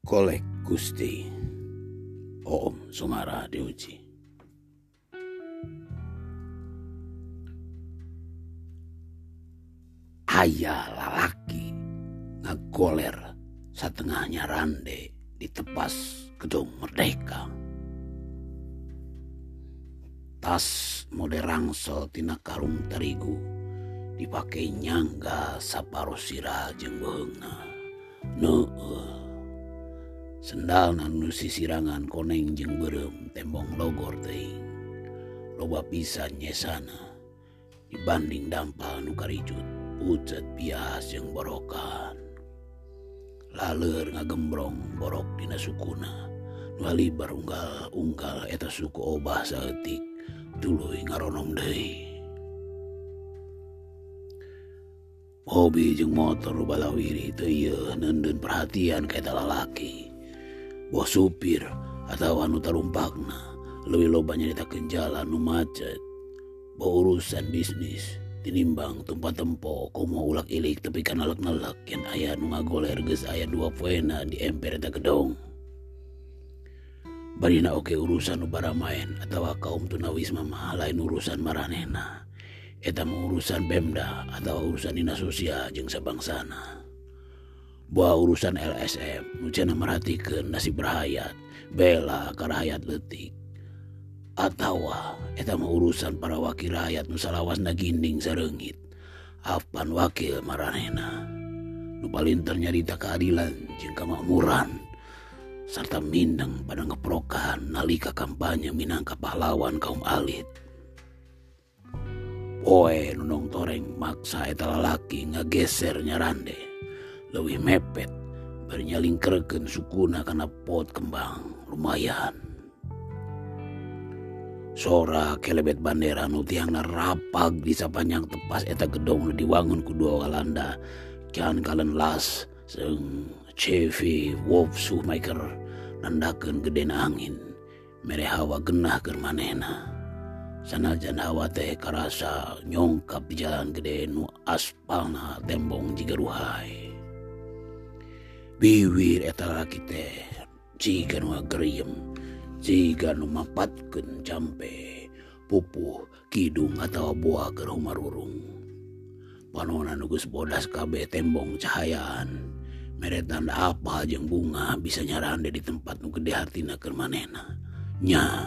Kolek Gusti Om Sumara diuji. Aya lalaki ngagoler satengahnya rande di tepas Gedung Merdeka. Tas mode rangsel tina karung terigu dipakai nyangga saparo sirah jeung beheungna. Sendal nu sisirangan koneng jeung beureum tembong logor teuing. Loba pisan nyesana dibanding dampal nu karijut pucet bias jeung borokan. Laleur ngagembrong borok dina sukuna nu halibar unggal eta suku obah saeutik tuluy ngaronom deui. Hobi jeung motor nu balawiri teu ieu neundeun perhatian ka eta lalaki. Boh supir atau anu tarumpakna leuwih loba nyaritakeun jalan nu macet. Boh urusan bisnis tinimbang tumpa tempo komo ulak-ilik tepi ka nalek-nalek yen aya nu ngagoler geus aya 2 poena di emper eta gedong. Barina oke urusan nu baramaen atawa kaum tunawisma mah lain urusan maranehna. Eta mah urusan Pemda atau urusan dinas sosial jeung sabangsana. Buah urusan LSM nu cenah merhatikeun nasib rahayat bela ka rahayat leutik. Atawa eta mah urusan para wakil rakyat nu salawasna ginding sareungit apan wakil maranehna nu palinter nyarita keadilan jeung kamakmuran sarta mindeng pada ngeprokan nalika kampanye minangka pahlawan kaum alit. Poe nu nongtoreng maksa eta lalaki ngageser nyarande leuwih mepet bari nyalingkerekeun sukuna kana pot kembang lumayan. Sora kelebet bandera nu tiangna rapag di sapanjang tepas eta gedong nu diwangun ku dua Walanda can kalen las seung CV Wolf Schumacher nandakeun gedena angin mere hawa genah keur manehna. Sanajan hawa teh karasa nyongkap di jalan gede nu aspalna tembong jiga ruhai. Biwir eta lalaki teh jiga nu agriem, jiga nu mapatkeun campe, pupuh, kidung atawa buah keur humarurung. Panonna nu geus bodas kabeh tembong cahayaan, mere tanda apa jeung bunga bisa nyarande di tempat nu gede hartina keur manehna. Nya,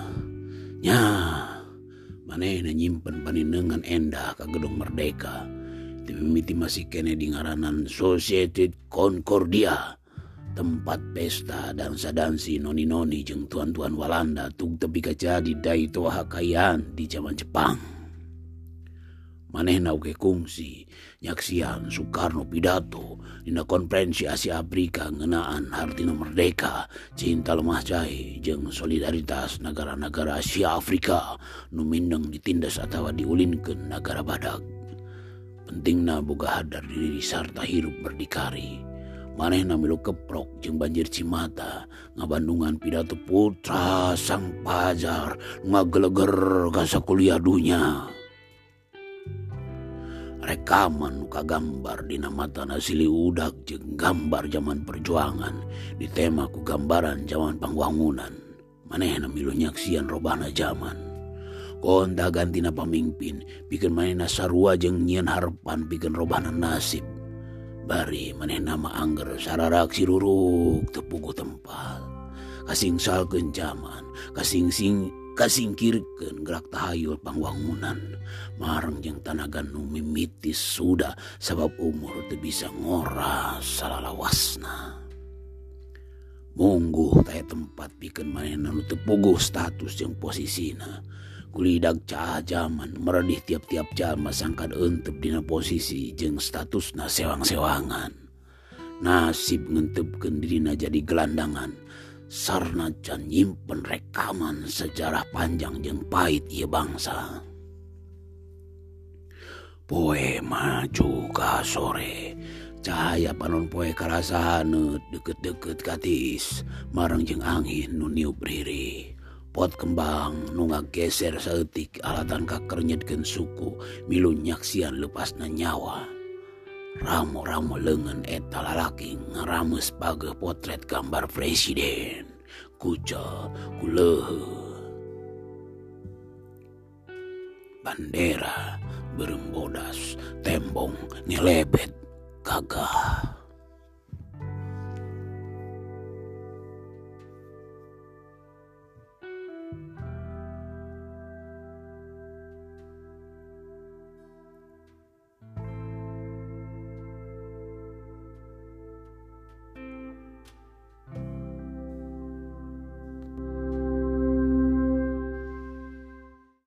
manehna nyimpen panindeungan endah ka Gedung Merdeka. Ti mimiti masih kene di ngaranan Society Concordia. Tempat pesta dansa-dansi noni-noni jeung tuan-tuan Walanda tug tepi ka jadi daito hakayan di zaman Jepang. Manehna oge kungsi nyaksian Soekarno pidato dina konferensi Asia Afrika ngeunaan hartina merdeka, cinta lemah jahe jeung solidaritas negara-negara Asia Afrika nu mindeng ditindas atawa diulinkeun nagara badak. Pentingna boga hadar diri sarta hirup berdikari. Manehna milu keprok jeung banjir cimata ngabandungan pidato putra sang pajar ngageleger ka sakuliah dunya. Rekaman nu kagambar dina matana silih udak jeung gambar zaman perjuangan ditema ku gambaran zaman pangwangunan. Manehna milu nyaksian robahna zaman. Konta gantina pamimpin pikeun manehna sarua jeung nyieun harepan pikeun robahna nasib. Bari manehna mah angger sararak siruruk tepuguh tempat. Kasingsalkeun zaman, kasingkirkeun gerak tahayul pangwangunan. Mareng jeung tanaga nu mimitis sudah sabab umur teu bisa ngoras salalawasna. Mungguh taya tempat pikeun manehna nu teu puguh status jeung posisina. Kulidak cah zaman meredih tiap-tiap jalma sangkan euteup dina posisi jeung statusna sewang-sewangan. Nasib ngentepkeun dirina jadi gelandangan sarna can nyimpen rekaman sejarah panjang jeung pahit ieu bangsa. Poe maju ka sore, cahaya panon poe karasa haneut deukeut-deukeut katis mareng jeung angin nu niup riri. Pot kembang nu ngageser saeutik alatan kaker nyedkeun suku milu nyaksian lepasna nyawa. Ramo-ramo lengan eta lalaki ngerames pageh potret gambar presiden. Kuca kulehe. Bandera berembodas tembong nyelebet gagah.